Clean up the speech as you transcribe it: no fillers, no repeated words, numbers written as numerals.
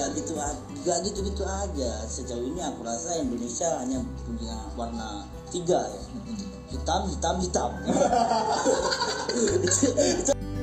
Gak gitu aja. Sejauh ini aku rasa Indonesia hanya punya warna 3 ya. Hitam.